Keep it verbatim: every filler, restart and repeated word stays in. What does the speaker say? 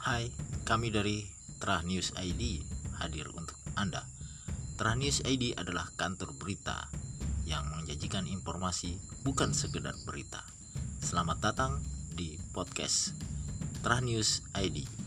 Hai, kami dari Trah News I D hadir untuk Anda. Trah News I D adalah kantor berita yang menjanjikan informasi, bukan sekedar berita. Selamat datang di podcast Trah News I D.